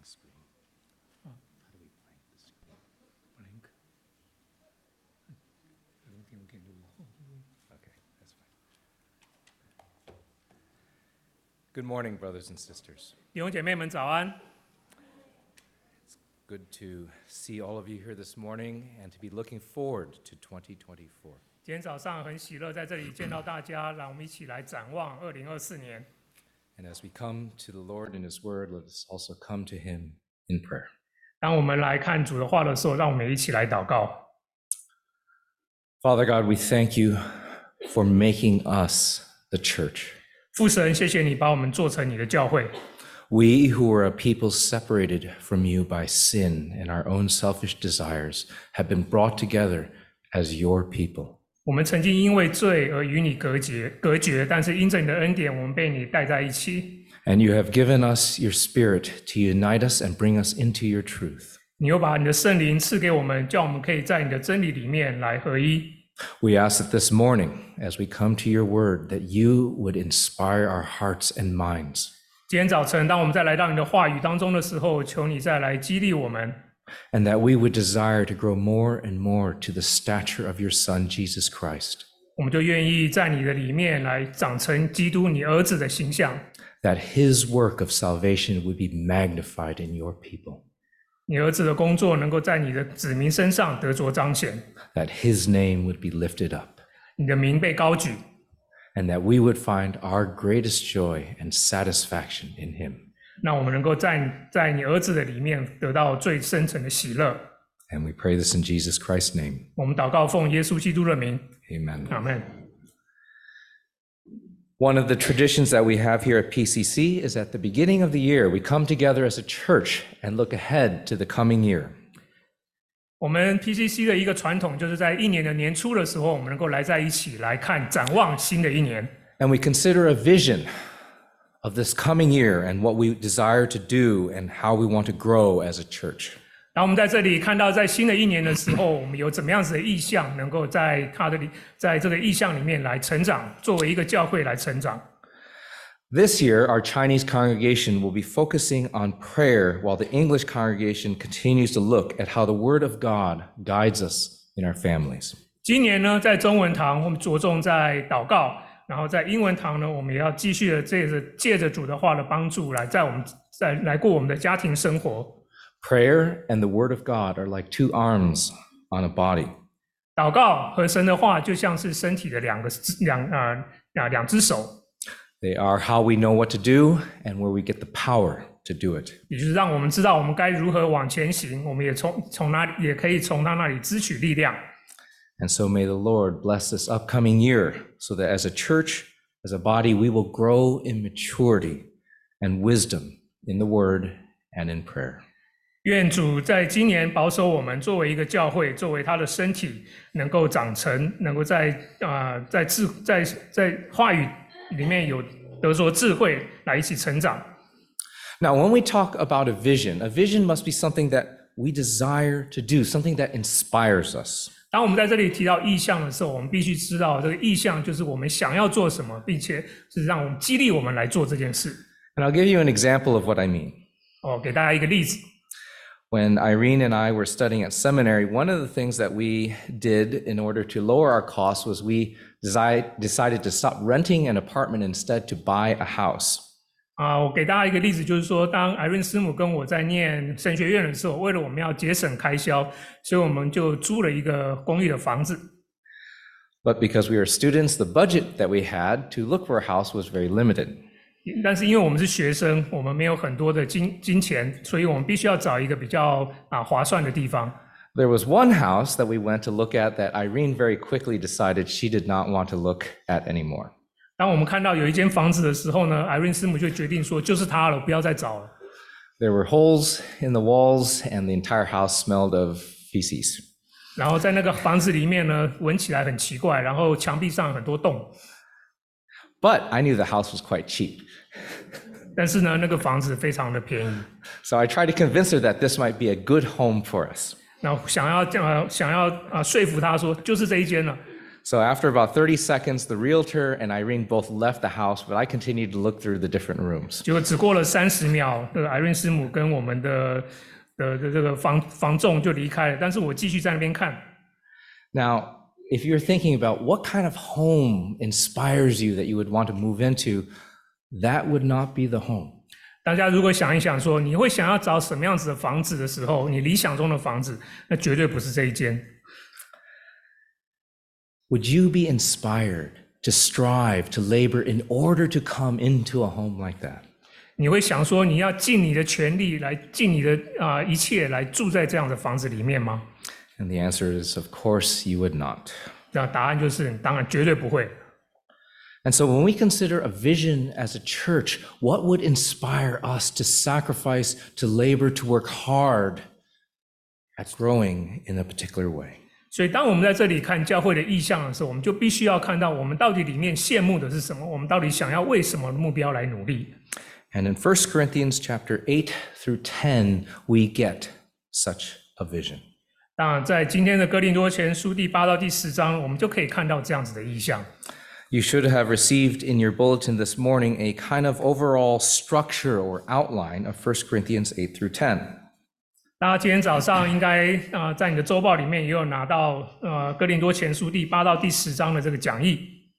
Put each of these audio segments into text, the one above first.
blank screen. How do we blank the screen? Blank. I don't think we can do it. Okay, that's fine. Good morning, brothers and sisters. 弟兄姐妹们早安。 Good to see all of you here this morning and to be looking forward to 2024. 今天早上很喜樂在这里见到大家，让我们一起来展望2024年。 And as we come to the Lord in His Word, let us also come to Him in prayer. 当我们來看主的話的時候，讓我們一起來禱告。 Father God, we thank you for making us the church. 父神，謝謝你把我們做成你的教會。 We who were a people separated from you by sin and our own selfish desires have been brought together as your people. 我們曾經因為罪而與你隔絕，但是因着你的恩典，我們被你帶在一起。 And you have given us your Spirit to unite us and bring us into your truth. 你又把你的聖靈賜給我們，叫我們可以在你的真理裡面來合一。 We ask that this morning, as we come to your word, that you would inspire our hearts and minds. 今天早晨，當我們再來到你的話語當中的時候，求你再來激勵我們。 And that we would desire to grow more and more to the stature of your Son, Jesus Christ. 我們就願意在你的裡面來長成基督你兒子的形象。 That his work of salvation would be magnified in your people. 你兒子的工作能夠在你的子民身上得着彰顯。 That his name would be lifted up. 你的名被高舉。 And that we would find our greatest joy and satisfaction in him. 那我們能夠在你兒子的裡面得到最深層的喜樂。 And we pray this in Jesus Christ's name. 我們禱告奉耶穌基督的名。 Amen. Amen. One of the traditions that we have here at PCC is at the beginning of the year, we come together as a church and look ahead to the coming year. 我們 PCC 的一個傳統就是在一年的年初的時候，我們能夠來在一起來看展望新的一年。 And we consider a vision of this coming year and what we desire to do and how we want to grow as a church. 当我們在這裡看到在新的一年的時候，我們有怎麼樣子的意向，能夠在這個意向裡面來成長，作為一個教會來成長。 This year, our Chinese congregation will be focusing on prayer while the English congregation continues to look at how the Word of God guides us in our families. 今年呢，在中文堂我們着重在禱告，然後在英文堂呢，我們也要繼續的借着主的話的幫助來過我們的家庭生活。 Prayer and the Word of God are like two arms on a body. 禱告和神的話就像是身體的兩隻手。 They are how we know what to do and where we get the power to do it. 也就是讓我們知道我們該如何往前行，我們也可以從他那裡支取力量。 And so may the Lord bless this upcoming year so that as a church, as a body, we will grow in maturity and wisdom in the Word and in prayer. 願主在今年保守我們作為一個教會，作為他的身體，能夠長成，能夠在話語裡面有得着智慧來一起成長。 Now, when we talk about a vision must be something that we desire to do, something that inspires us. 當我們在這裡提到意向的時候，我們必須知道這個意向就是我們想要做什麼，並且是讓我們激勵我們來做這件事。 And I'll give you an example of what I mean. 給大家一個例子。 When Irene and I were studying at seminary, one of the things that we did in order to lower our costs was we decided to stop renting an apartment instead to buy a house. 我給大家一個例子，就是說，當 Irene 師母跟我在念神學院的時候，為了我們要節省開銷，所以我們就租了一個公寓的房子。 But because we were students, the budget that we had to look for a house was very limited. 但是因為我們是學生，我們沒有很多的金錢，所以我們必須要找一個比較划算的地方。 There was one house that we went to look at that Irene very quickly decided she did not want to look at anymore. 當我們看到有一間房子的時候呢 ，Irene 師母就決定說，就是它了，不要再找了。 There were holes in the walls, and the entire house smelled of feces. 然後在那個房子裡面呢，聞起來很奇怪，然後牆壁上很多洞。 But I knew the house was quite cheap. 但是呢，那個房子非常的便宜。 So I tried to convince her that this might be a good home for us. 然後想要說服她說，就是這一間了。 So after about 30 seconds, the realtor and Irene both left the house, but I continued to look through the different rooms. 结果只過了30秒，这个艾瑞师母跟我们的这个房仲就離開了，但是我繼續在那邊看。 Now, if you're thinking about what kind of home inspires you that you would want to move into, that would not be the home. 大家如果想一想說，你會想要找什麼樣子的房子的時候，你理想中的房子，那絕對不是這一間。 Would you be inspired to strive, to labor in order to come into a home like that? 你會想說，你要盡你的全力來盡你的一切來住在這樣的房子裡面嗎？ And the answer is, of course, you would not. 那答案就是，當然絕對不會。 And so when we consider a vision as a church, what would inspire us to sacrifice, to labor, to work hard at growing in a particular way? 所以當我們在這裡看教會的意向的時候，我們就必須要看到我們到底裡面羨慕的是什麼，我們到底想要為什麼目標來努力。 And in 1 Corinthians chapter 8 through 10, we get such a vision. 當然，在今天的哥林多前書第8到第10章，我們就可以看到這樣子的意向。 You should have received in your bulletin this morning a kind of overall structure or outline of 1 Corinthians 8 through 10. 大家今天早上應該在你的週報裡面也有拿到哥林多前書第8到第10章的這個講義。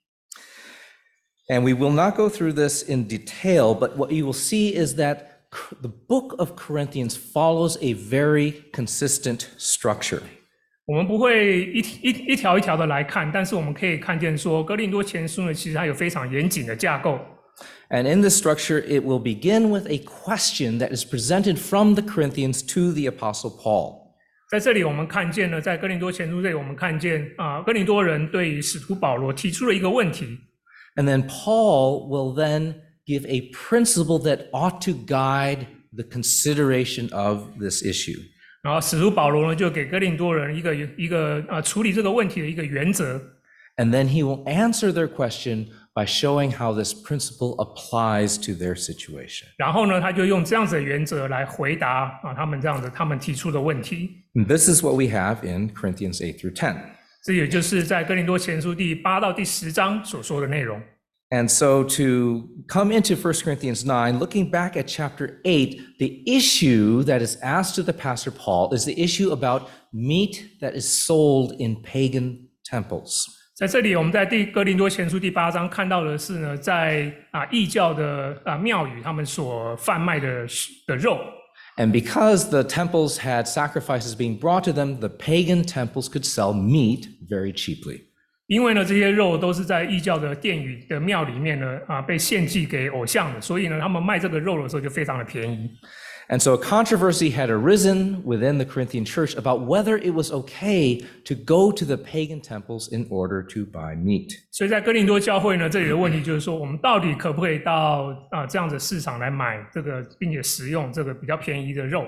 And we will not go through this in detail, but what you will see is that the book of Corinthians follows a very consistent structure. 我們不會一條一條的來看，但是我們可以看見說，哥林多前書呢，其實它有非常嚴謹的架構。 And in this structure, it will begin with a question that is presented from the Corinthians to the Apostle Paul. 在這裡，我們看見呢，在哥林多前書這裡，我們看見哥林多人對於使徒保羅提出了一個問題。 And then Paul will then give a principle that ought to guide the consideration of this issue. 然後使徒保羅呢，就給哥林多人一個處理這個問題的一個原則。 And then he will answer their question by showing how this principle applies to their situation. 然後呢，他就用這樣子的原則來回答他們提出的問題。 And this is what we have in Corinthians 8 through 10. 這也就是在哥林多前書第8到第10章所說的內容。 And so to come into 1 Corinthians 9, looking back at chapter 8, the issue that is asked to the Pastor Paul is the issue about meat that is sold in pagan temples. 在這裡，我們在哥林多前書第8章看到的是呢，在異教的廟宇他們所販賣的肉。 And because the temples had sacrifices being brought to them, the pagan temples could sell meat very cheaply. 因為呢，這些肉都是在異教的殿宇的廟裡面呢被獻祭給偶像的，所以呢，他們賣這個肉的時候就非常的便宜。 And so a controversy had arisen within the Corinthian church about whether it was okay to go to the pagan temples in order to buy meat. 所以在哥林多教會呢，這裡的問題就是說，我們到底可不可以到這樣的市場來買這個，並且食用這個比較便宜的肉？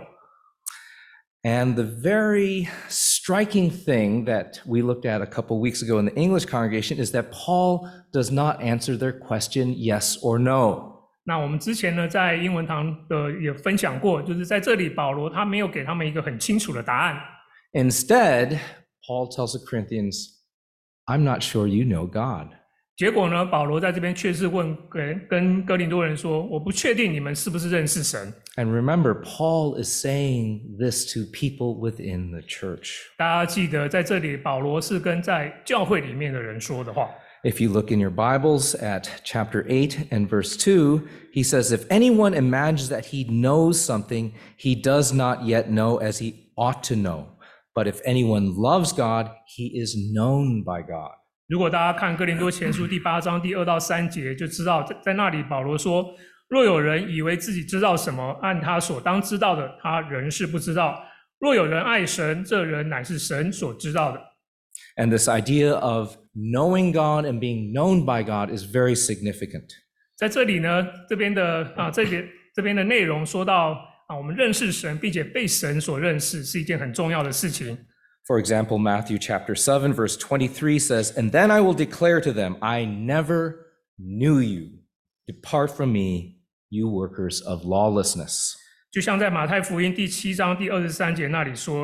And the very striking thing that we looked at a couple weeks ago in the English congregation is that Paul does not answer their question yes or no. 那我們之前呢，在英文堂也分享過，就是在這裡保羅他沒有給他們一個很清楚的答案。 Instead, Paul tells the Corinthians, I'm not sure you know God. 結果呢，保羅在這邊卻是跟哥林多人說，我不確定你們是不是認識神。 And remember, Paul is saying this to people within the church. 大家記得，在這裡保羅是跟在教會裡面的人說的話。 If you look in your Bibles at chapter 8 and verse 2, he says, if anyone imagines that he knows something, he does not yet know as he ought to know. But if anyone loves God, he is known by God. 如果大家看哥林多前書第8章第2到3節，就知道在那裡保羅說，若有人以為自己知道什麼，按他所當知道的，他仍是不知道。若有人愛神，這人乃是神所知道的。 And this idea of knowing God and being known by God is very significant. 在這裡呢，這邊的內容說到我們認識神，並且被神所認識，是一件很重要的事情。 For example, Matthew chapter 7 verse 23 says, And then I will declare to them, I never knew you. Depart from me, you workers of lawlessness. 就像在馬太福音第7章第23節那裡說，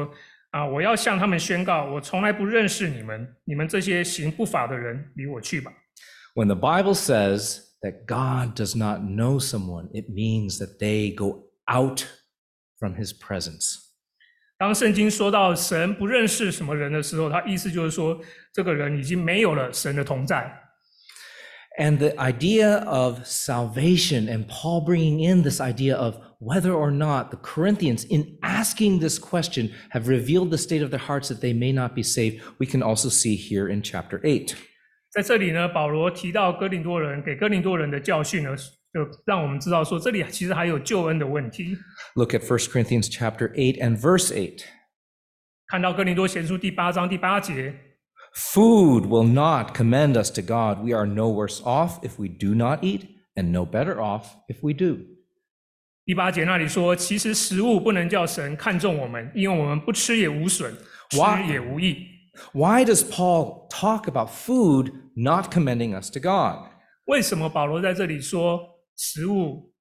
我要向他們宣告，我從來不認識你們，你們這些行不法的人，離我去吧。 When the Bible says that God does not know someone, it means that they go out from his presence. 當聖經說到神不認識什麼人的時候，他意思就是說，這個人已經沒有了神的同在。 And the idea of salvation, and Paul bringing in this idea of whether or not the Corinthians, in asking this question, have revealed the state of their hearts that they may not be saved, we can also see here in chapter 8. 在這裡呢，保羅提到哥林多人，給哥林多人的教訓呢，就讓我們知道說，這裡其實還有救恩的問題。 Look at 1 Corinthians chapter 8 and verse 8. 看到哥林多前書第8章第8節。 Food will not commend us to God. We are no worse off if we do not eat, and no better off if we do. 第8節那裡說，其實食物不能叫神看重我們，因為我們不吃也無損，吃也無益。 Why does Paul talk about food not commending us to God? 為什麼保羅在這裡說食物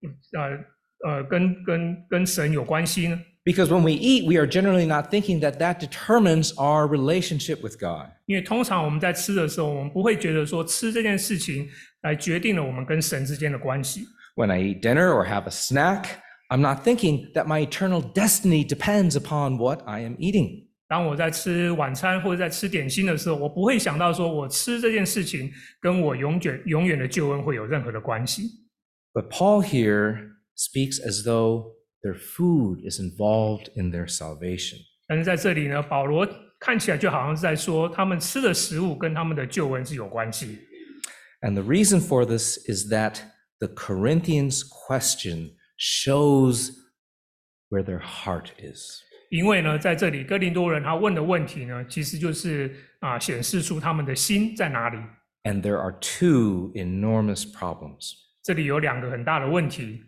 跟神有關係呢？ Because when we eat, we are generally not thinking that that determines our relationship with God. 因為通常我們在吃的时候，我們不会覺得說吃這件事情來決定了我們跟神之間的關係。 When I eat dinner or have a snack, I'm not thinking that my eternal destiny depends upon what I am eating. 當我在吃晚餐或者在吃點心的時候，我不會想到說我吃這件事情跟我永遠的救恩會有任何的關係。 But Paul here speaks as though their food is involved in their salvation. 但是在這裡呢，保羅看起來就好像是在說，他們吃的食物跟他們的救恩是有關係。 And the reason for this is that the Corinthians' question shows where their heart is. 因為呢，在這裡哥林多人他問的問題呢，其實就是顯示出他們的心在哪裡。 And there are two enormous problems. 這裡有兩個很大的問題。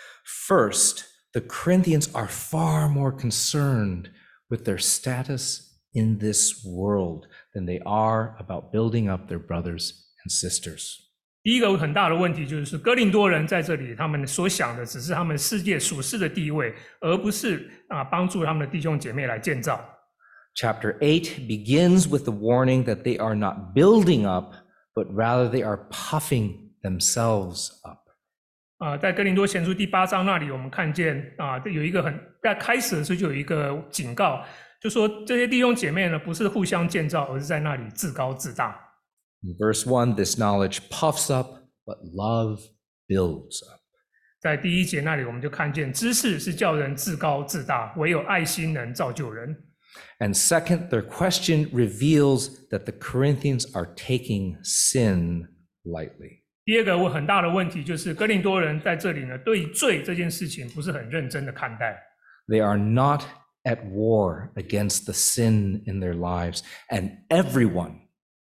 First, the Corinthians are far more concerned with their status in this world than they are about building up their brothers and sisters. 第一個很大的問題就是哥林多人在這裡，他們所想的只是他們世界屬世的地位，而不是幫助他們的弟兄姐妹來建造。 Chapter 8 begins with the warning that they are not building up, but rather they are puffing themselves up. 在哥林多前書第8章那裡，我們看見有一個在開始的時候就有一個警告，就說這些弟兄姐妹呢，不是互相建造，而是在那裡自高自大。 In verse 1, this knowledge puffs up, but love builds up. 在第1節那裡，我們就看見知識是叫人自高自大，唯有愛心能造就人。 And second, their question reveals that the Corinthians are taking sin lightly. 第二個很大的問題就是哥林多人在這裡呢，對罪這件事情不是很認真的看待。 They are not at war against the sin in their lives, and everyone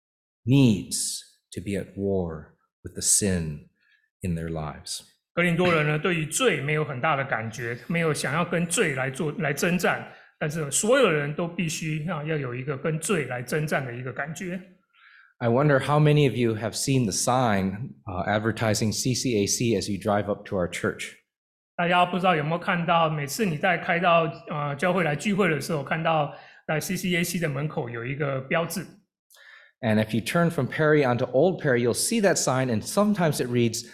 needs to be at war with the sin in their lives. 哥林多人呢，对於罪沒有很大的感覺，沒有想要跟罪來征戰，但是所有人都必須要有一個跟罪來征戰的一個感覺。 I wonder how many of you have seen the sign advertising CCAC as you drive up to our church. 大家不知道有沒有看到，每次你在開到教會來聚會的時候，看到在 CCAC 的門口有一個標誌。 And if you turn from Perry onto Old Perry, you'll see that sign, and sometimes it reads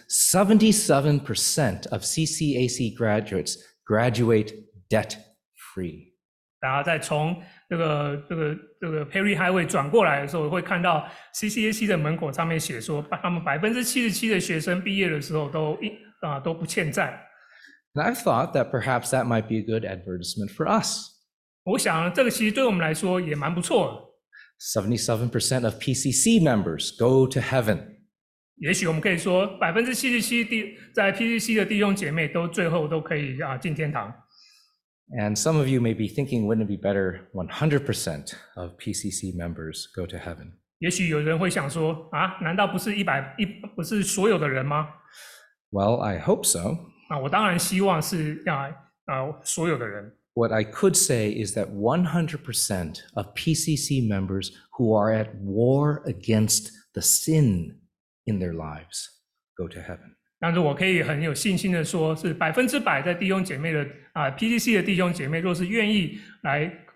77% of CCAC graduates graduate debt-free. 然後再從這個 Perry Highway 轉過來的時候，會看到 CCAC 的門口上面寫說，他們77%的學生畢業的時候都不欠債。 And I've thought that perhaps that might be a good advertisement for us. 我想這個其實對我們來說也蠻不錯的。 77% of PCC members go to heaven. 也許我們可以說77%在 PCC 的弟兄姐妹最後都可以進天堂。 And some of you may be thinking, wouldn't it be better 100% of PCC members go to heaven? 也許有人會想說難道不是不是所有的人嗎？ Well, I hope so. 我當然希望是所有的人。 What I could say is that 100% of PCC members who are at war against the sin in their lives go to heaven. 但是我可以很有信心的說，是100%在弟兄姐妹的PCC 的弟兄姐妹，若是願意来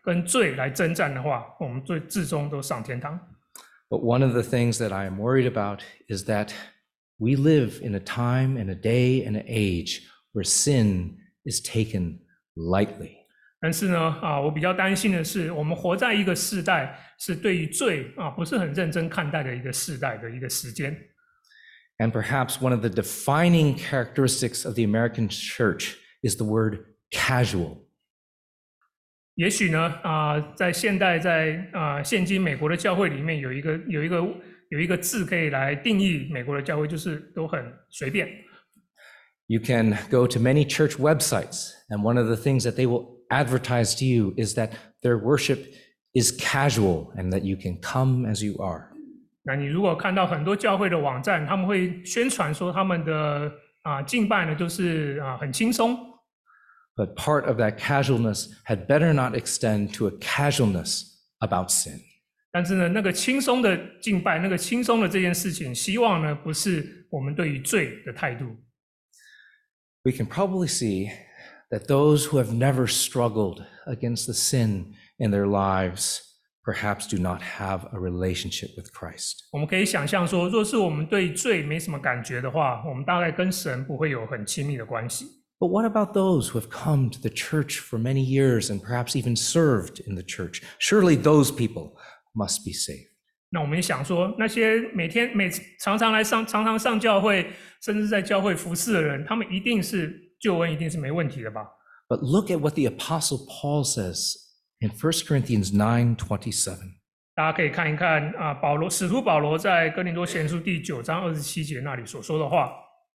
跟罪來征戰的話，我們最終都上天堂。 But one of the things that I am worried about is that we live in a time and a day and an age where sin is taken lightly. 但是呢，我比较擔心的是，我們活在一個世代，是對於罪不是很認真看待的一個世代的一個時間。 And perhaps one of the defining characteristics of the American church is the word casual. 也許呢，在现代，在現今美國的教會裡面，有一個字可以來定義美國的教會，就是都很隨便。 You can go to many church websites, and one of the things that they will advertise to you is that their worship is casual and that you can come as you are. 那你如果看到很多教會的網站，他們會宣傳說他們的敬拜呢，就是很輕鬆。 But part of that casualness had better not extend to a casualness about sin. 但是呢，那個輕鬆的敬拜，那個輕鬆的這件事情，希望呢不是我們對於罪的態度。 We can probably see that those who have never struggled against the sin in their lives perhaps do not have a relationship with Christ. 我們可以想象說，若是我們对罪沒什麼感覺的話，我們大概跟神不會有很親密的關係。 But what about those who have come to the church for many years and perhaps even served in the church? Surely those people must be saved. 那我們也想說，那些常常上教会，甚至在教会服侍的人，他们一定是救恩，一定是沒問題的吧？ But look at what the Apostle Paul says in 1 Corinthians 9:27. 大家可以看一看使徒保羅在哥林多前書第9章27節那裡所說的話。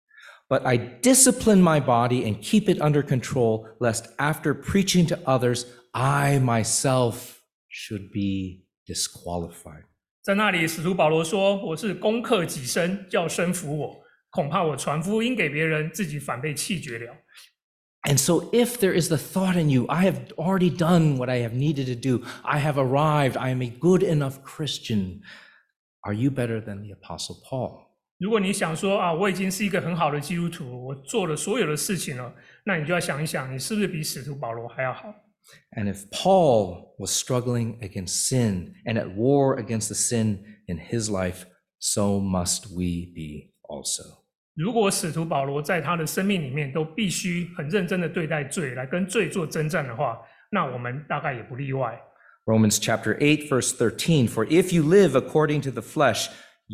But I discipline my body and keep it under control, lest after preaching to others, I myself should be disqualified. 在那裡，使徒保羅說：“我是攻克己身，叫身服我，恐怕我傳福音給別人，自己反被棄絕了。” And so if there is the thought in you, I have already done what I have needed to do, I have arrived, I am a good enough Christian, are you better than the Apostle Paul? 如果你想說我已經是一個很好的基督徒，我做了所有的事情了，那你就要想一想，你是不是比使徒保羅還要好？ And if Paul was struggling against sin and at war against the sin in his life, so must we be also. 如果使徒保羅在他的生命裡面都必須很認真的對待罪，來跟罪做征戰的話，那我們大概也不例外。 Romans chapter 8, verse 13, for if you live according to the flesh,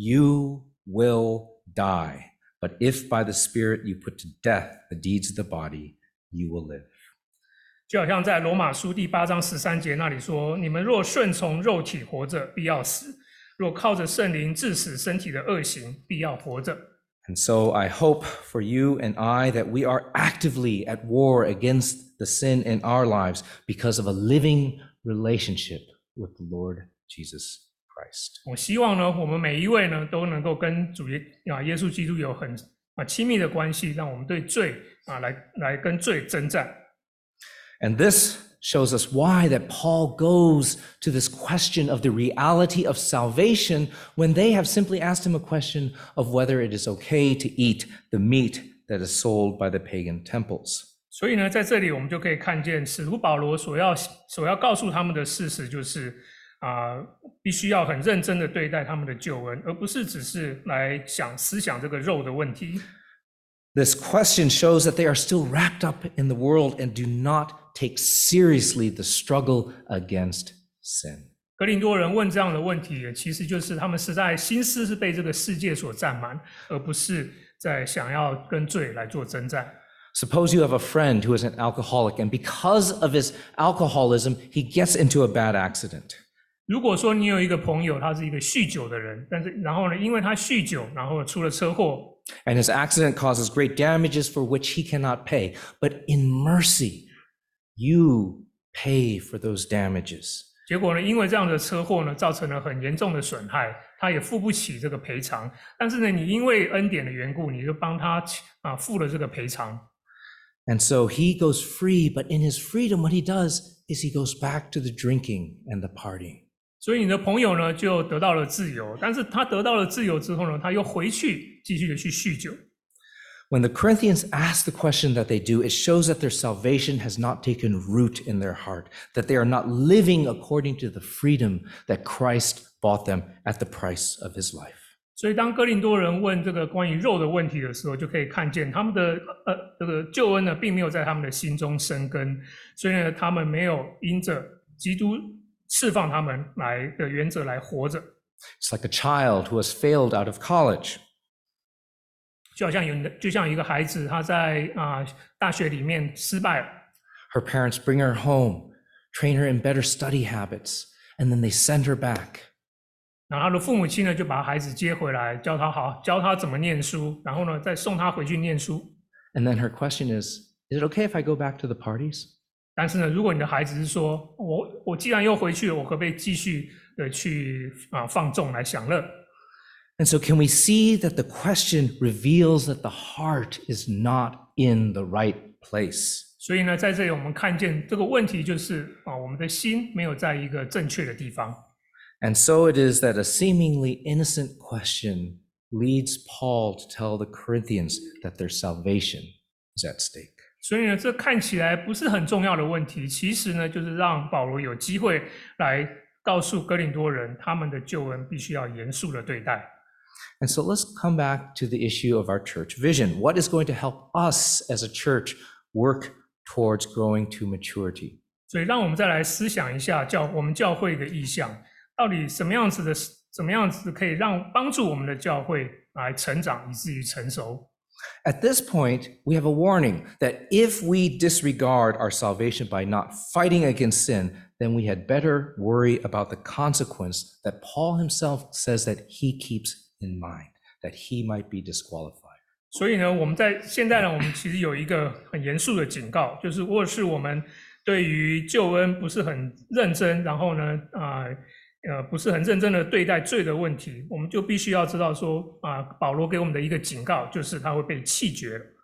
you will die. But if by the Spirit you put to death the deeds of the body, you will live. 就好像在羅馬書第8章13節那裡說，你們若順從肉體活着，必要死；若靠着聖靈治死身體的惡行，必要活着。 And so I hope for you and I that we are actively at war against the sin in our lives because of a living relationship with the Lord Jesus Christ. 我希望呢，我們每一位呢都能夠跟主耶穌基督有很親密的關係，讓我們對罪來跟罪征戰。 And this shows us why that Paul goes to this question of the reality of salvation when they have simply asked him a question of whether it is okay to eat the meat that is sold by the pagan temples. 所以呢，在這裡我們就可以看見使徒保羅所要告訴他們的事實就是必須要很認真的對待他們的救恩，而不是只是來思想這個肉的問題。 This question shows that they are still wrapped up in the world and do not take seriously the struggle against sin. 哥林多人問這樣的問題，其實就是他們實在心思是被這個世界所占滿，而不是在想要跟罪來做征戰。 Suppose you have a friend who is an alcoholic, and because of his alcoholism, he gets into a bad accident. 如果說你有一個朋友，他是一個酗酒的人，然後呢，因為他酗酒，然後出了車禍。 And his accident causes great damages for which he cannot pay. But in mercy, you pay for those damages. 結果呢，因為這樣的車禍呢，造成了很嚴重的損害，他也付不起這個賠償。但是呢，你因為恩典的緣故，你就幫他付了這個賠償。 And so he goes free, but in his freedom, what he does is he goes back to the drinking and the partying. 所以你的朋友呢，就得到了自由，但是他得到了自由之後呢，他又回去繼續的去酗酒。 When the Corinthians ask the question that they do, it shows that their salvation has not taken root in their heart, that they are not living according to the freedom that Christ bought them at the price of his life. 所以当哥林多人問這個關於肉的問題的時候，就可以看見他們的這個救恩呢，並沒有在他們的心中生根，所以呢，他們沒有因着基督釋放他們來的原則來活着。 It's like a child who has failed out of college. 就像一個孩子，他在大學裡面失敗了。 Her parents bring her home, train her in better study habits, and then they send her back. 然後他的父母親呢，就把孩子接回來，教他怎麼念書，然後呢，再送他回去念書。 And then her question is it okay if I go back to the parties? 但是呢，如果你的孩子是說，我既然又回去了，我可不可以繼續的去放縱來享樂？ And so can we see that the question reveals that the heart is not in the right place? 所以呢，在這裡我們看見這個問題就是我們的心沒有在一個正確的地方。 And so it is that a seemingly innocent question leads Paul to tell the Corinthians that their salvation is at stake. 所以呢，這看起來不是很重要的問題，其實呢，就是讓保羅有機會來告訴哥林多人，他們的救恩必須要嚴肅的對待。 And so let's come back to the issue of our church vision. What is going to help us as a church work towards growing to maturity? 所以让我們再來思想一下我們教會的意向，到底什麼樣子可以幫助我們的教會來成長以至於成熟。 At this point, we have a warning that if we disregard our salvation by not fighting against sin, then we had better worry about the consequence that Paul himself says that he keeps in mind, that he might be disqualified. 所以呢，現在呢，我們其實有一個很嚴肅的警告，就是如果是我們對於救恩不是很認真，然後呢，不是很認真的對待罪的問題，我們就必須要知道說，保羅給我們的一個警告，就是他會被棄絕了。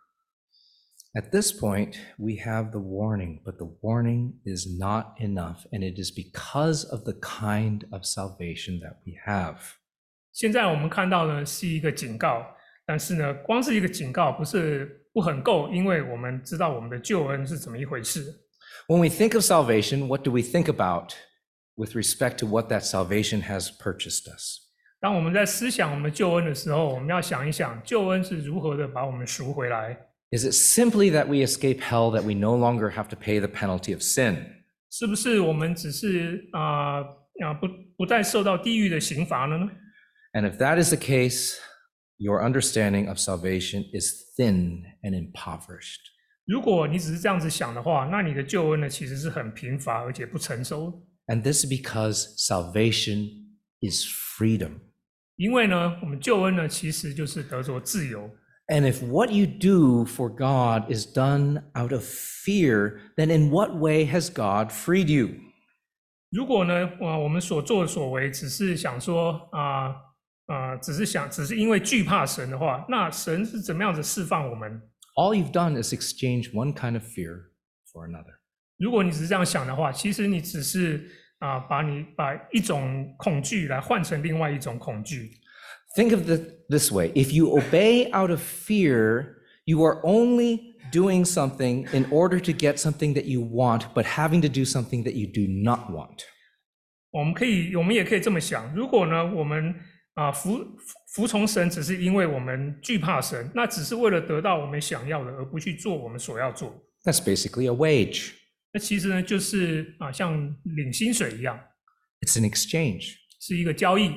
At this point, we have the warning, but the warning is not enough, and it is because of the kind of salvation that we have. 現在我們看到呢是一個警告，但是呢，光是一個警告不很夠，因為我們知道我們的救恩是怎麼一回事。 When we think of salvation, what do we think about with respect to what that salvation has purchased us? 當我們在思想我們的救恩的時候，我們要想一想，救恩是如何的把我們贖回來。 Is it simply that we escape hell, that we no longer have to pay the penalty of sin? 是不是我們只是不再受到地獄的刑罰了呢？ And if that is the case, your understanding of salvation is thin and impoverished. 如果你只是這樣子想的話，那你的救恩呢，其實是很貧乏而且不成熟。 And this is because salvation is freedom. 因為呢，我們救恩呢，其實就是得着自由。 And if what you do for God is done out of fear, then in what way has God freed you? 如果呢，我們所作所為只是想說只是因為懼怕神的話，那神是怎麼樣子釋放我們？ All you've done is exchange one kind of fear for another. 如果你只是這樣想的話，其實你只是把一種恐懼來換成另外一種恐懼。 Think of it this way. If you obey out of fear, you are only doing something in order to get something that you want, but having to do something that you do not want. 我們也可以這麼想，如果呢，我們服從神只是因為我們懼怕神，那只是為了得到我們想要的，而不去做我們所要做。 That's basically a wage. 那其實呢，就是像領薪水一樣。 It's an exchange. 是一個交易。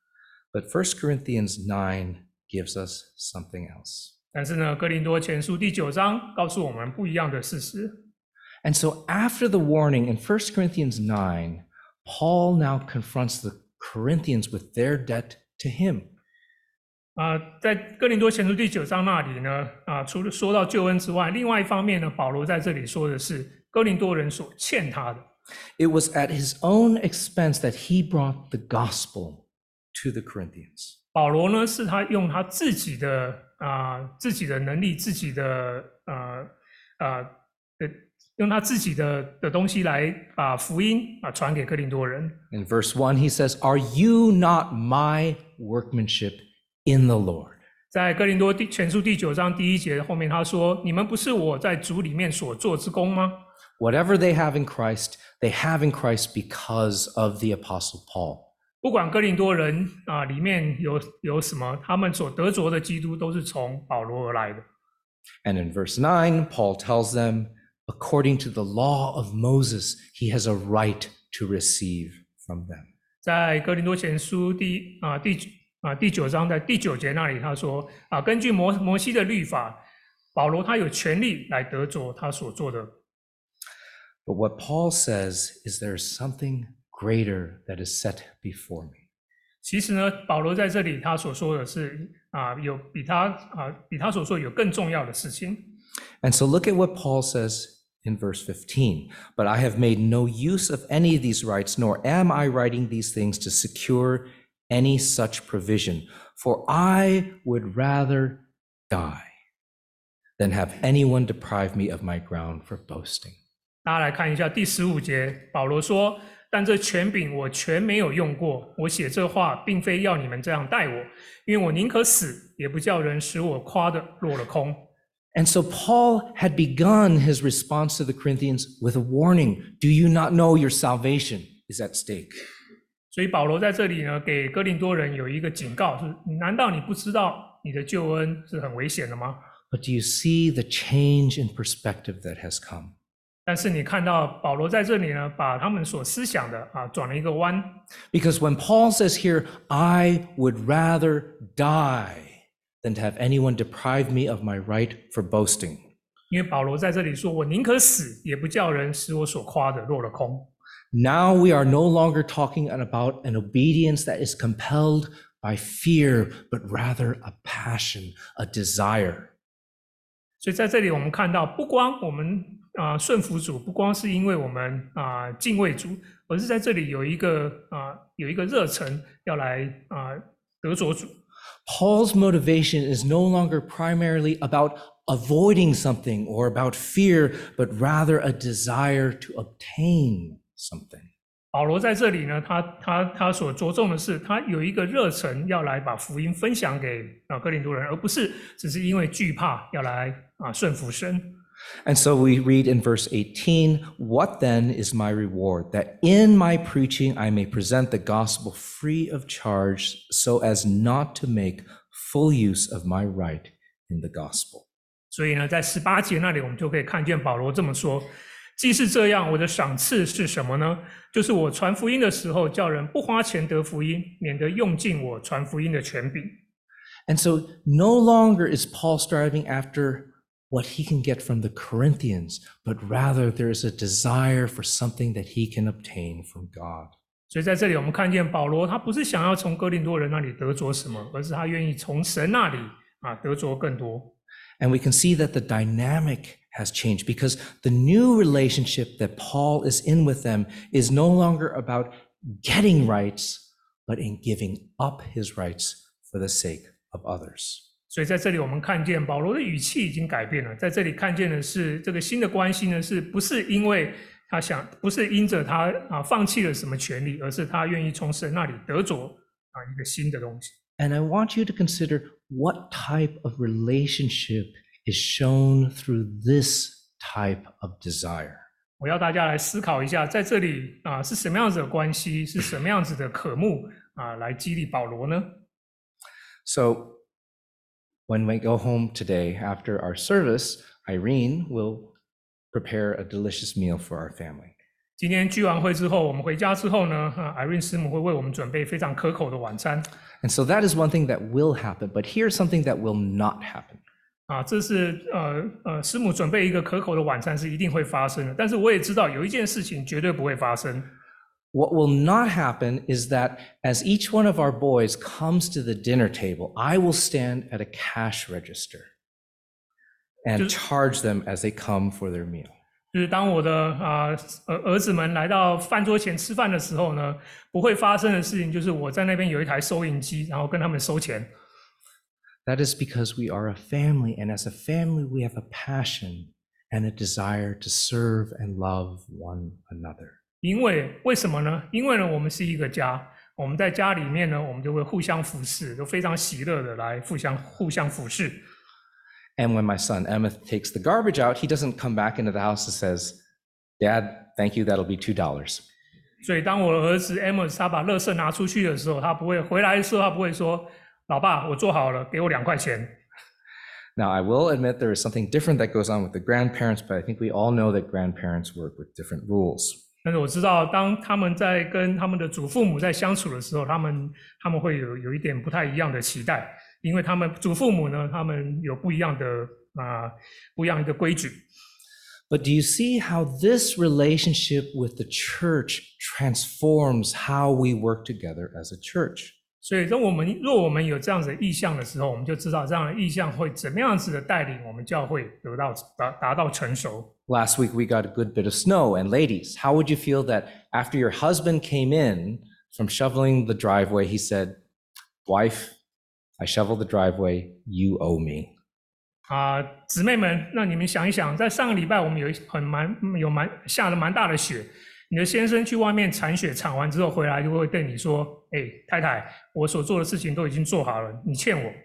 But 1 Corinthians 9 gives us something else. 但是呢，哥林多前書第9章告訴我們不一樣的事實。 And so after the warning in 1 Corinthians 9, Paul now confronts the Corinthians with their debt to him. 在哥林多前書第9章那裡呢，除了說到救恩之外，另外一方面呢，保羅在這裡說的是哥林多人所欠他的。 It was at his own expense that he brought the gospel to the Corinthians. 保羅呢，是他用他自己的能力，用他自己的東西來把福音傳給哥林多人。 In verse 1, he says, "Are you not my workmanship in the Lord?" 在哥林多前書第9章第1節後面他說：“你們不是我在主裡面所做之功嗎？” Whatever they have in Christ, they have in Christ because of the Apostle Paul. 不管哥林多人裡面有什麼，他們所得着的基督都是從保羅而來的。 And in verse 9, Paul tells them, according to the law of Moses, he has a right to receive from them. 在哥林多前書第9章在第9節那裡，他說根據摩西的律法，保羅他有權利來得着他所做的。 But what Paul says is there is something greater that is set before me. 其實呢，保羅在這裡他所說的是有比他所說有更重要的事情。 And so look at what Paul says in verse 15. But I have made no use of any of these rights, nor am I writing these things to secure any such provision. For I would rather die than have anyone deprive me of my ground for boasting. 大家來看一下第15節，保羅說：“但這權柄我全沒有用過。我寫這話，並非要你們這樣待我，因為我寧可死，也不叫人使我誇的落了空。” And so Paul had begun his response to the Corinthians with a warning. Do you not know your salvation is at stake? 所以保羅在這裡呢，給哥林多人有一個警告，就是難道你不知道你的救恩是很危險的嗎？ But do you see the change in perspective that has come? 但是你看到保羅在這裡呢，把他們所思想的轉了一個彎。 Because when Paul says here, I would rather die than to have anyone deprive me of my right for boasting. 因為保羅在這裡說，我寧可死，也不叫人使我所誇的落了空。 Now we are no longer talking about an obedience that is compelled by fear, but rather a passion, a desire. 所以在這裡我們看到，不光我們順服主，不光是因為我們敬畏主，而是在這裡有一個熱忱要來得着主。 Paul's motivation is no longer primarily about avoiding something or about fear, but rather a desire to obtain something. 保羅在這裡呢，他所着重的是，他有一個熱忱要來把福音分享給哥林多人，而不是只是因為懼怕要來順服神。 And so we read in verse 18, what then is my reward? That in my preaching I may present the gospel free of charge, so as not to make full use of my right in the gospel. 所以呢，在18節那裡，我們就可以看見保羅這麼說：既是這樣，我的賞賜是什麼呢？就是我傳福音的時候，叫人不花錢得福音，免得用盡我傳福音的權柄。 And so no longer is Paul striving after what he can get from the Corinthians, but rather there is a desire for something that he can obtain from God. 所以在這裡我們看見保羅，他不是想要從哥林多人那裡得着什麼，而是他願意從神那裡得着更多。 And we can see that the dynamic has changed because the new relationship that Paul is in with them is no longer about getting rights, but in giving up his rights for the sake of others. 所以在這裡我們看見保羅的語氣已經改變了，在這裡看見的是這個新的關係呢，是不是因為不是因着他放棄了什麼權利，而是他願意從神那裡得着一個新的東西。 And I want you to consider what type of relationship is shown through this type of desire. 我要大家來思考一下，在這裡是什麼樣子的關係，是什麼樣子的渴慕來激勵保羅呢？ So when we go home today after our service, Irene will prepare a delicious meal for our family. 今天聚完會之後，我們回家之後呢，Irene 師母會為我們準備非常可口的晚餐。 And so that is one thing that will happen, but here's something that will not happen. 這是師母準備一個可口的晚餐是一定會發生的，但是我也知道有一件事情絕對不會發生。 What will not happen is that as each one of our boys comes to the dinner table, I will stand at a cash register and charge them as they come for their meal. 就是當我的兒子們來到飯桌前吃飯的時候呢，不會發生的事情就是我在那邊有一台收銀機，然後跟他們收錢。 That is because we are a family, and as a family, we have a passion and a desire to serve and love one another. 为什麼呢？因為呢，我們是一個家， 我們在家裡面呢，我們就會互相服侍，都非常喜樂的來互相服侍。 And when my son Emmett takes the garbage out, he doesn't come back into the house and says, Dad, thank you, that'll be $2. 所以当我的兒子 Amos 他把垃圾拿出去的時候，他不会回來的時候，他不會說，老爸，我做好了，給我2塊錢。 Now, I will admit there is something different that goes on with the grandparents, but I think we all know that grandparents work with different rules. 但是我知道，当他們在跟他們的祖父母在相處的時候，他们會有一點不太一樣的期待，因為他們祖父母呢，他們有不一樣的規矩。 But do you see how this relationship with the church transforms how we work together as a church? 所以，若我們有這樣子的意向的時候，我們就知道這樣的意向會怎麼樣子的帶領我們教會達到成熟。 Last week we got a good bit of snow, and ladies, how would you feel that after your husband came in from shoveling the driveway, he said, "Wife, I shoveled the driveway, you owe me." 姊妹們，那你們想一想，在上個禮拜我們下了蠻大的雪，你的先生去外面鏟雪，鏟完之後回來就會對你說：“太太，我所做的事情都已經做好了，你欠我。”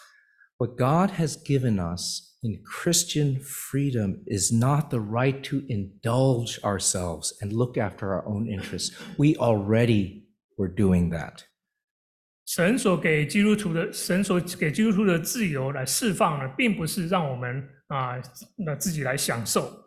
What God has given us in Christian freedom is not the right to indulge ourselves and look after our own interests. We already were doing that. 神所給基督徒的自由來釋放呢，並不是讓我們自己來享受。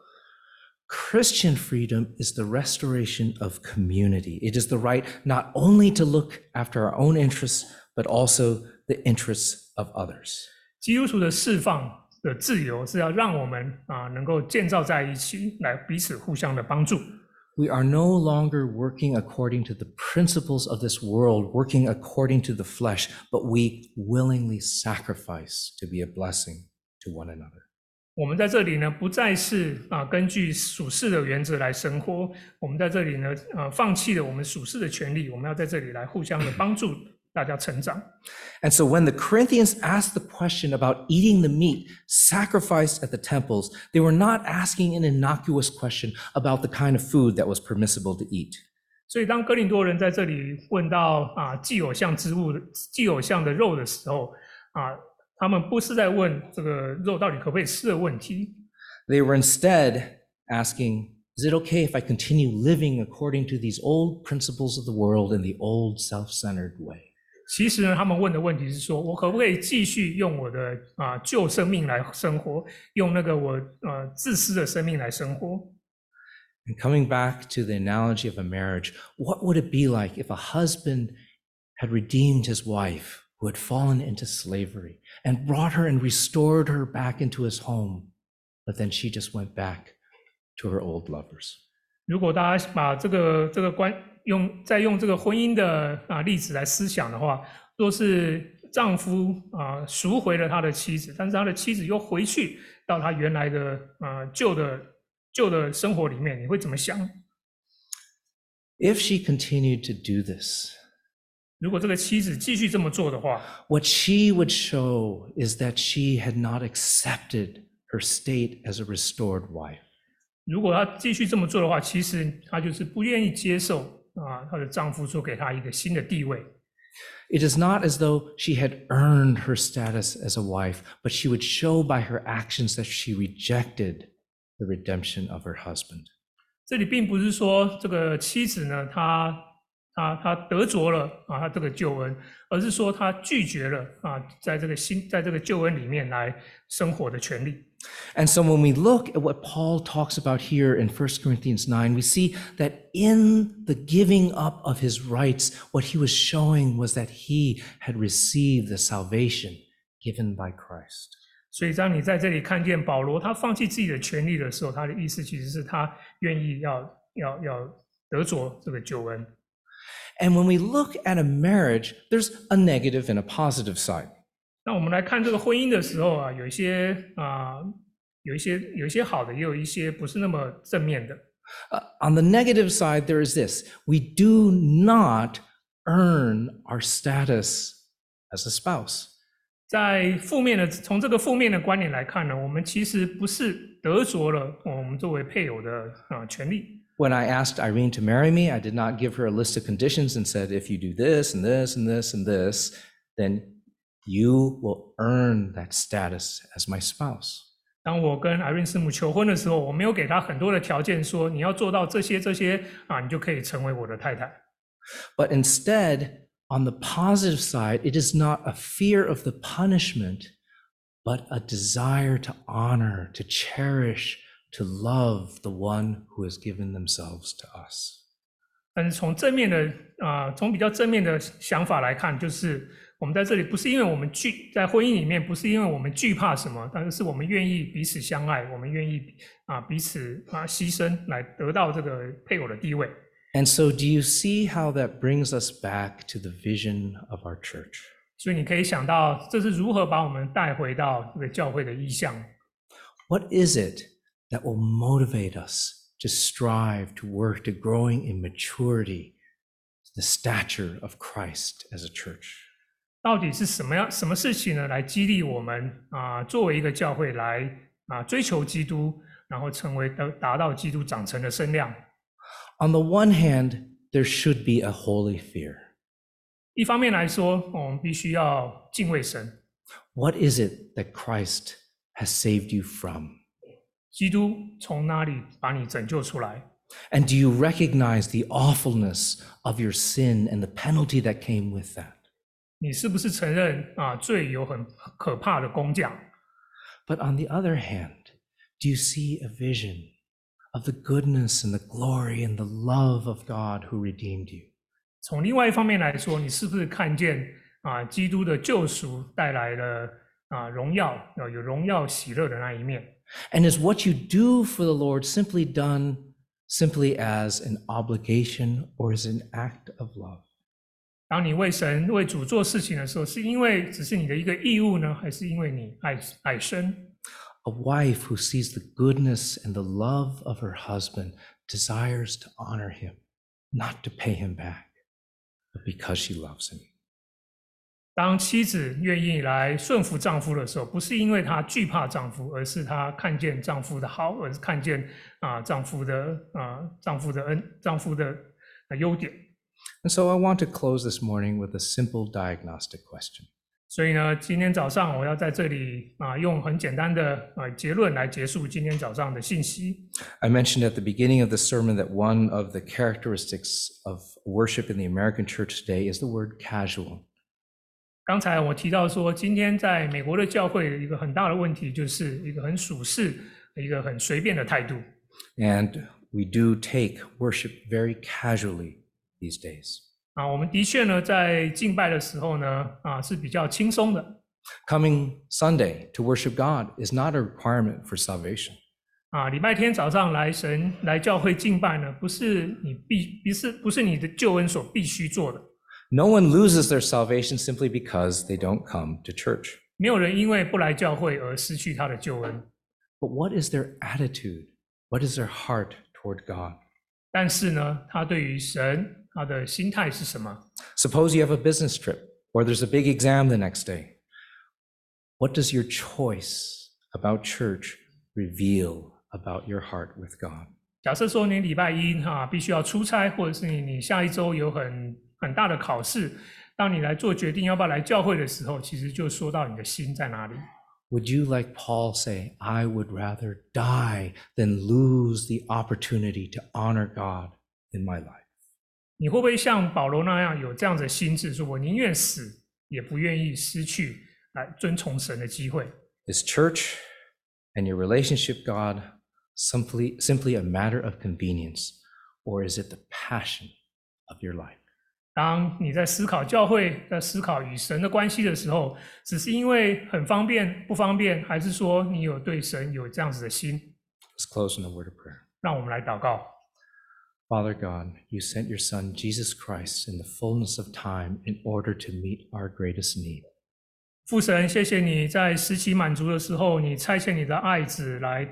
Christian freedom is the restoration of community. It is the right not only to look after our own interests, but also the interests of others. 基督徒的釋放的自由是要讓我們能夠建造在一起，來彼此互相的幫助。 We are no longer working according to the principles of this world, working according to the flesh, but we willingly sacrifice to be a blessing to one another. 我們在這裡呢，不再是根據屬世的原則來生活，我們在這裡呢，放棄了我們屬世的權利，我們要在這裡來互相的幫助大家成長。 And so when the Corinthians asked the question about eating the meat sacrificed at the temples, they were not asking an innocuous question about the kind of food that was permissible to eat. 所以當哥林多人在這裡問到祭偶像的肉的時候，他們不是在問這個肉到底可不可以吃的問題。 They were instead asking, is it okay if I continue living according to these old principles of the world in the old self-centered way? 其實呢，他們問的問題是說，我可不可以繼續用我的舊生命來生活，用那個我自私的生命來生活。 And coming back to the analogy of a marriage, what would it be like if a husband had redeemed his wife who had fallen into slavery and brought her and restored her back into his home, but then she just went back to her old lovers? 如果大家把再用这個婚姻的例子來思想的話，若是丈夫贖回了他的妻子，但是他的妻子又回去到他原來的舊的生活裡面，你會怎麼想？ If she continued to do this, 如果這個妻子繼續這麼做的話， what she would show is that she had not accepted her state as a restored wife. 如果她繼續這麼做的話，其實她就是不願意接受她的丈夫所給她一個新的地位。 It is not as though she had earned her status as a wife, but she would show by her actions that she rejected the redemption of her husband. 這裡並不是說這個妻子呢，她得着了她這個救恩，而是說她拒絕了在這個救恩裡面來生活的權利。 And so when we look at what Paul talks about here in 1 Corinthians 9, we see that in the giving up of his rights, what he was showing was that he had received the salvation given by Christ. 所以当你在這裡看見保羅他放棄自己的權利的時候，他的意思其實是他願意要得着這個救恩。 And when we look at a marriage, there's a negative and a positive side. 那我們來看這個婚姻的時候有一些好的，也有一些不是那麼正面的。 On the negative side, there is this: we do not earn our status as a spouse. 從這個負面的觀點來看呢，我們其實不是得着了我們作為配偶的權利。 When I asked Irene to marry me, I did not give her a list of conditions and said, if you do this and this and this and this, then you will earn that status as my spouse. 当我跟 Irene 師母求婚的时候，我沒有給她很多的條件，說你要做到這些你就可以成為我的太太。 But instead, on the positive side, it is not a fear of the punishment, but a desire to honor, to cherish, to love the one who has given themselves to us. 但是从比較正面的想法來看，就是我們在這裡不是因為我們在婚姻裡面不是因為我們懼怕什麼，但是我們願意彼此相愛，我們願意彼此犧牲來得到這個配偶的地位。 And so do you see how that brings us back to the vision of our church? 所以你可以想到這是如何把我們帶回到這個教會的意向。 What is it that will motivate us to strive, to work, to growing in maturity, the stature of Christ as a church? 到底是什麼事情呢，來激勵我們作為一個教會來追求基督，然後達到基督長成的身量。 On the one hand, there should be a holy fear. 一方面來說，我們必須要敬畏神。 What is it that Christ has saved you from? 基督從哪裡把你拯救出來？ And do you recognize the awfulness of your sin and the penalty that came with that? 你是不是承認罪有很可怕的工價？ But on the other hand, do you see a vision of the goodness and the glory and the love of God who redeemed you? 從另外一方面來說，你是不是看見基督的救贖帶來了榮耀，有榮耀喜樂的那一面？ And is what you do for the Lord done simply as an obligation or as an act of love? 當你為神為主做事情的時候，是因為只是你的一個義務呢，還是因為你愛神？ A wife who sees the goodness and the love of her husband desires to honor him, not to pay him back, but because she loves him. 當妻子願意來順服丈夫的時候，不是因為她懼怕丈夫，而是她看見丈夫的好，而是看見丈夫的優點。 And so I want to close this morning with a simple diagnostic question. 所以呢，今天早上我要在這裡用很簡單的結論來結束今天早上的信息。 I mentioned at the beginning of the sermon that one of the characteristics of worship in the American church today is the word casual. 剛才我提到說，今天在美國的教會一個很大的問題就是一個很屬世、一個很隨便的態度。 And we do take worship very casually these days. 我們的確呢，在敬拜的時候呢，是比較輕鬆的。 Coming Sunday to worship God is not a requirement for salvation. 禮拜天早上來教會敬拜呢，不是你的救恩所必須做的。 No one loses their salvation simply because they don't come to church. 沒有人因為不來教會而失去他的救恩。 But what is their attitude? What is their heart toward God? 但是呢，他對於神，他的心態是什麼？ Suppose you have a business trip, or there's a big exam the next day. What does your choice about church reveal about your heart with God? 假設說你禮拜一必須要出差，或者是你下一周有很大的考試，當你來做決定要不要來教會的時候，其實就說到你的心在哪裡。 Would you, like Paul, say, I would rather die than lose the opportunity to honor God in my life? 你会不會像保羅那樣有這樣的心智，說我寧願死，也不願意失去來遵從神的機會？ Is church and your relationship with God simply a matter of convenience, or is it the passion of your life? 當你在思考教會，在思考與神的關係的時候，只是因為很方便、不方便，還是說你有對神有這樣子的心？ Let's close in a word of prayer. 讓我們來禱告。 Father God, you sent your Son, Jesus Christ, in the fullness of time in order to meet our greatest need. 父神，謝謝你在時期滿足的時候，你差遣你的愛子來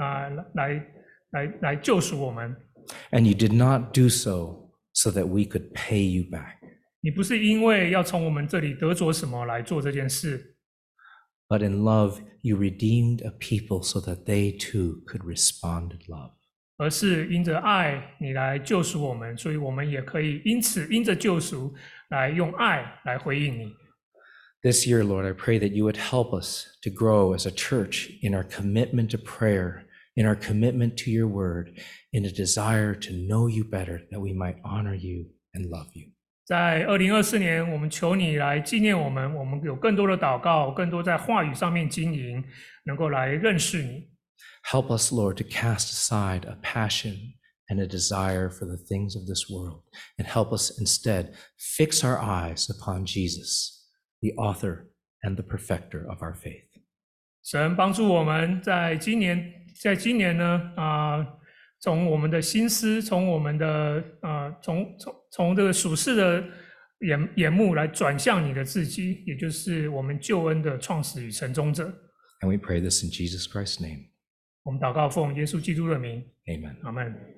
救贖我們。 And you did not do so that we could pay you back. 你不是因為要從我們這裡得着什麼來做這件事， But in love, you redeemed a people so that they too could respond in love. 而是因着愛你來救贖我們，所以我們也可以因着救贖來用愛來回應你。 This year, Lord, I pray that you would help us to grow as a church in our commitment to prayer, in our commitment to your word, in a desire to know you better, that we might honor you and love you. 在2024年，我們求你來紀念我們，我們有更多的禱告，更多在話語上面經營，能夠來認識你。 Help us, Lord, to cast aside a passion and a desire for the things of this world, and help us instead fix our eyes upon Jesus, the author and the perfecter of our faith. 神幫助我們在今年呢，從我們的心思，從我們的從這個屬世的眼目來轉向你的自己，也就是我們救恩的創始與成終者。 And we pray this in Jesus Christ's name. 我們禱告奉耶穌基督的名。 Amen. 阿們。